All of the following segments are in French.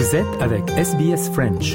Vous êtes avec SBS French.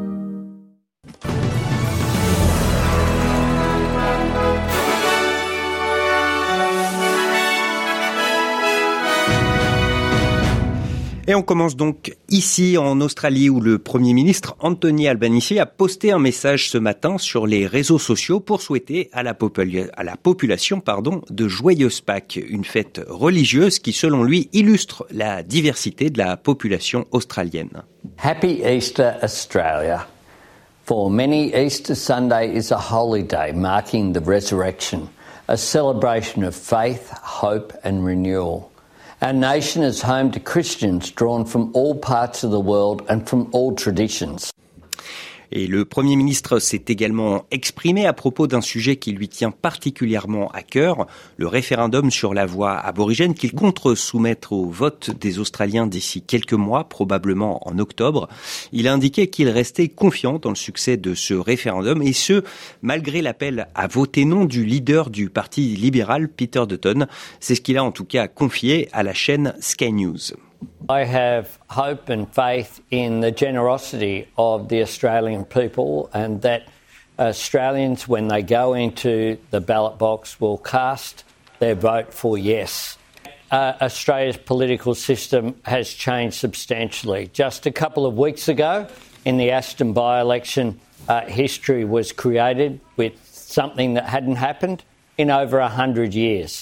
Et on commence donc ici en Australie où le Premier ministre Anthony Albanese a posté un message ce matin sur les réseaux sociaux pour souhaiter à la population de joyeuses Pâques, une fête religieuse qui selon lui illustre la diversité de la population australienne. Happy Easter Australia. For many, Easter Sunday is a holy day marking the resurrection, a celebration of faith, hope and renewal. Our nation is home to Christians drawn from all parts of the world and from all traditions. Et le Premier ministre s'est également exprimé à propos d'un sujet qui lui tient particulièrement à cœur, le référendum sur la voix aborigène qu'il compte soumettre au vote des Australiens d'ici quelques mois, probablement en octobre. Il a indiqué qu'il restait confiant dans le succès de ce référendum et ce, malgré l'appel à voter non du leader du Parti libéral, Peter Dutton. C'est ce qu'il a en tout cas confié à la chaîne Sky News. I have hope and faith in the generosity of the Australian people and that Australians, when they go into the ballot box, will cast their vote for yes. Australia's political system has changed substantially. Just a couple of weeks ago, in the Aston by-election, history was created with something that hadn't happened in over 100 years.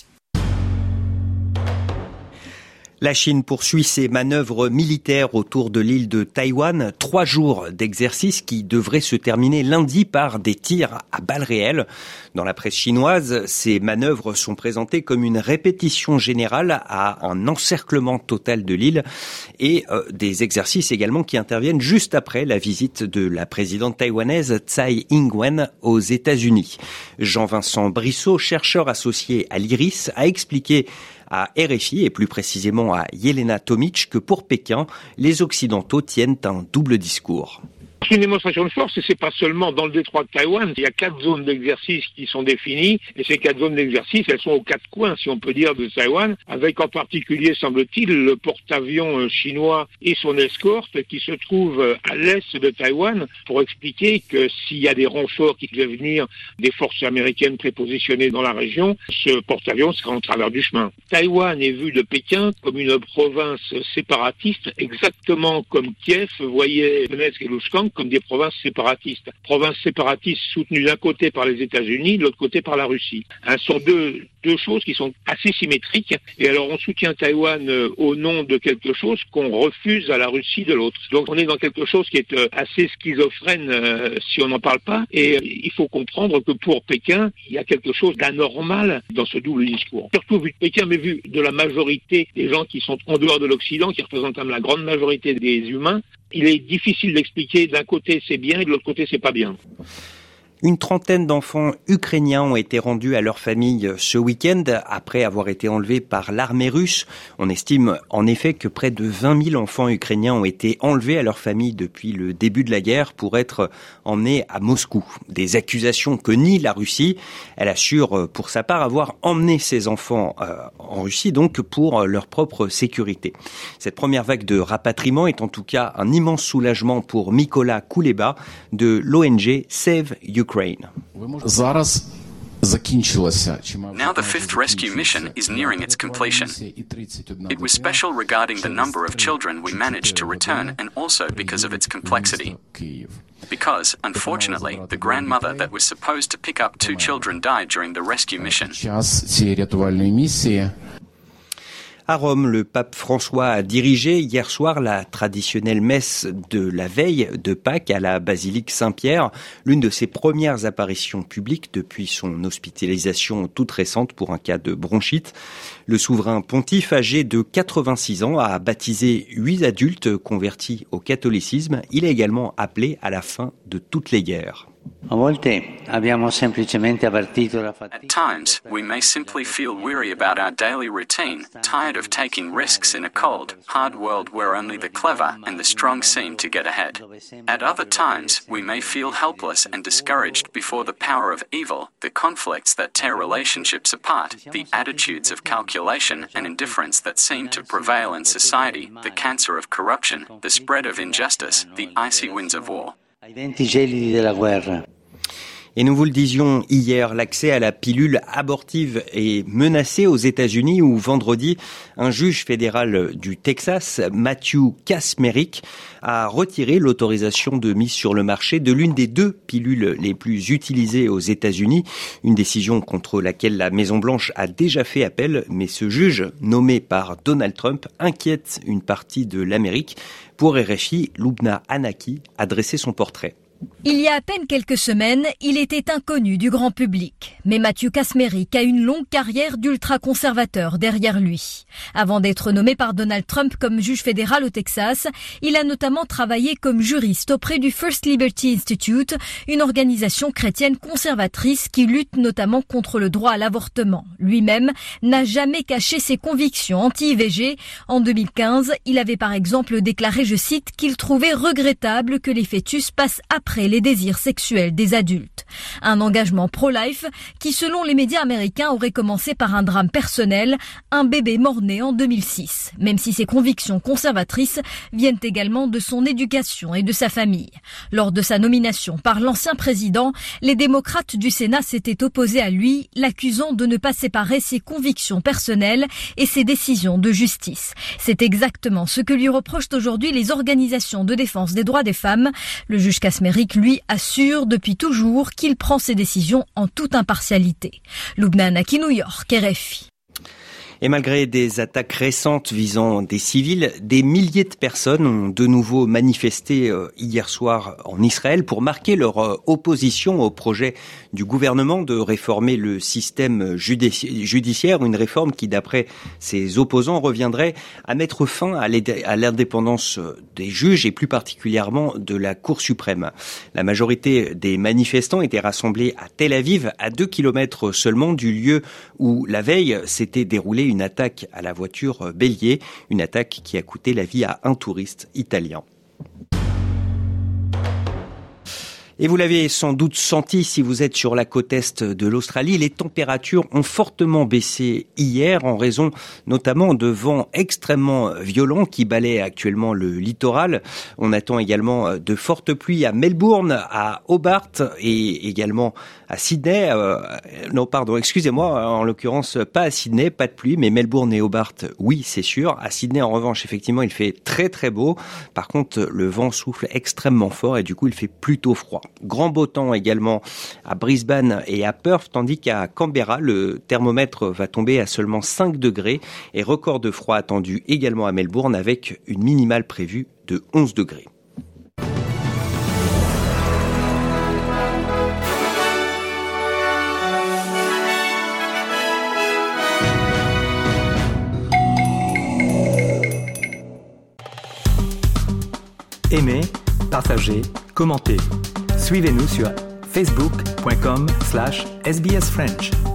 La Chine poursuit ses manœuvres militaires autour de l'île de Taïwan. 3 jours d'exercice qui devraient se terminer lundi par des tirs à balles réelles. Dans la presse chinoise, ces manœuvres sont présentées comme une répétition générale à un encerclement total de l'île et des exercices également qui interviennent juste après la visite de la présidente taïwanaise Tsai Ing-wen aux États-Unis. Jean-Vincent Brissot, chercheur associé à l'IRIS, a expliqué à RFI et plus précisément à Yelena Tomic que pour Pékin, les Occidentaux tiennent un double discours. C'est une démonstration de force et c'est pas seulement dans le détroit de Taïwan. Il y a 4 zones d'exercice qui sont définies et ces 4 zones d'exercice, elles sont aux 4 coins, si on peut dire, de Taïwan, avec en particulier, semble-t-il, le porte-avions chinois et son escorte qui se trouve à l'est de Taïwan pour expliquer que s'il y a des renforts qui devaient venir des forces américaines prépositionnées dans la région, ce porte-avions sera en travers du chemin. Taïwan est vu de Pékin comme une province séparatiste, exactement comme Kiev voyait Donetsk et Luhansk comme des provinces séparatistes. Provinces séparatistes soutenues d'un côté par les États-Unis, de l'autre côté par la Russie. Ce sont deux choses qui sont assez symétriques. Et alors on soutient Taïwan au nom de quelque chose qu'on refuse à la Russie de l'autre. Donc on est dans quelque chose qui est assez schizophrène si on n'en parle pas. Et il faut comprendre que pour Pékin, il y a quelque chose d'anormal dans ce double discours. Surtout vu de Pékin, mais vu de la majorité des gens qui sont en dehors de l'Occident, qui représentent la grande majorité des humains, il est difficile d'expliquer d'un côté c'est bien et de l'autre côté c'est pas bien. Une trentaine d'enfants ukrainiens ont été rendus à leur famille ce week-end après avoir été enlevés par l'armée russe. On estime en effet que près de 20 000 enfants ukrainiens ont été enlevés à leur famille depuis le début de la guerre pour être emmenés à Moscou. Des accusations que nie la Russie. Elle assure pour sa part avoir emmené ces enfants en Russie donc pour leur propre sécurité. Cette première vague de rapatriement est en tout cas un immense soulagement pour Mykola Kuleba de l'ONG Save Ukraine. Now the fifth rescue mission is nearing its completion. It was special regarding the number of children we managed to return and also because of its complexity. Because, unfortunately, the grandmother that was supposed to pick up 2 children died during the rescue mission. À Rome, le pape François a dirigé hier soir la traditionnelle messe de la veille de Pâques à la basilique Saint-Pierre, l'une de ses premières apparitions publiques depuis son hospitalisation toute récente pour un cas de bronchite. Le souverain pontife, âgé de 86 ans, a baptisé 8 adultes convertis au catholicisme. Il a également appelé à la fin de toutes les guerres. At times, we may simply feel weary about our daily routine, tired of taking risks in a cold, hard world where only the clever and the strong seem to get ahead. At other times, we may feel helpless and discouraged before the power of evil, the conflicts that tear relationships apart, the attitudes of calculation and indifference that seem to prevail in society, the cancer of corruption, the spread of injustice, the icy winds of war. Et nous vous le disions hier, l'accès à la pilule abortive est menacé aux États-Unis où vendredi, un juge fédéral du Texas, Matthew Kacsmaryk, a retiré l'autorisation de mise sur le marché de l'une des 2 pilules les plus utilisées aux États-Unis, une décision contre laquelle la Maison-Blanche a déjà fait appel, mais ce juge, nommé par Donald Trump, inquiète une partie de l'Amérique. Pour RFI, Lubna Hanaki a dressé son portrait. Il y a à peine quelques semaines, il était inconnu du grand public. Mais Matthew Kacsmaryk a une longue carrière d'ultra-conservateur derrière lui. Avant d'être nommé par Donald Trump comme juge fédéral au Texas, il a notamment travaillé comme juriste auprès du First Liberty Institute, une organisation chrétienne conservatrice qui lutte notamment contre le droit à l'avortement. Lui-même n'a jamais caché ses convictions anti-IVG. En 2015, il avait par exemple déclaré, je cite, qu'il trouvait regrettable que les fœtus passent après les désirs sexuels des adultes. Un engagement pro-life qui, selon les médias américains, aurait commencé par un drame personnel, un bébé mort-né en 2006, même si ses convictions conservatrices viennent également de son éducation et de sa famille. Lors de sa nomination par l'ancien président, les démocrates du Sénat s'étaient opposés à lui, l'accusant de ne pas séparer ses convictions personnelles et ses décisions de justice. C'est exactement ce que lui reprochent aujourd'hui les organisations de défense des droits des femmes. Le juge Kacsmaryk, lui, assure depuis toujours qu'il prend ses décisions en toute impartialité. Lubna Hanaki, New York, RFI. Et malgré des attaques récentes visant des civils, des milliers de personnes ont de nouveau manifesté hier soir en Israël pour marquer leur opposition au projet du gouvernement de réformer le système judiciaire, une réforme qui, d'après ses opposants, reviendrait à mettre fin à l'indépendance des juges et plus particulièrement de la Cour suprême. La majorité des manifestants étaient rassemblés à Tel Aviv, à 2 kilomètres seulement du lieu où la veille s'était déroulée une attaque à la voiture bélier, une attaque qui a coûté la vie à un touriste italien. Et vous l'avez sans doute senti si vous êtes sur la côte est de l'Australie, les températures ont fortement baissé hier en raison notamment de vents extrêmement violents qui balaient actuellement le littoral. On attend également de fortes pluies à Melbourne, à Hobart et également à Sydney. En l'occurrence pas à Sydney, pas de pluie, mais Melbourne et Hobart, oui, c'est sûr. À Sydney, en revanche, effectivement, il fait très très beau. Par contre, le vent souffle extrêmement fort et du coup, il fait plutôt froid. Grand beau temps également à Brisbane et à Perth, tandis qu'à Canberra, le thermomètre va tomber à seulement 5 degrés et record de froid attendu également à Melbourne avec une minimale prévue de 11 degrés. Aimez, partagez, commentez. Suivez-nous sur facebook.com/sbsfrench.